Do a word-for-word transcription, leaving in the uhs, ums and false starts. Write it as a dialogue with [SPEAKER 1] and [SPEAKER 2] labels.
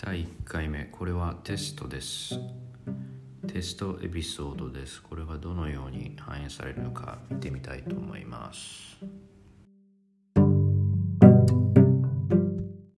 [SPEAKER 1] だいいっかいめ、これはテストです。テストエピソードです。これがどのように反映されるのか見てみたいと思います。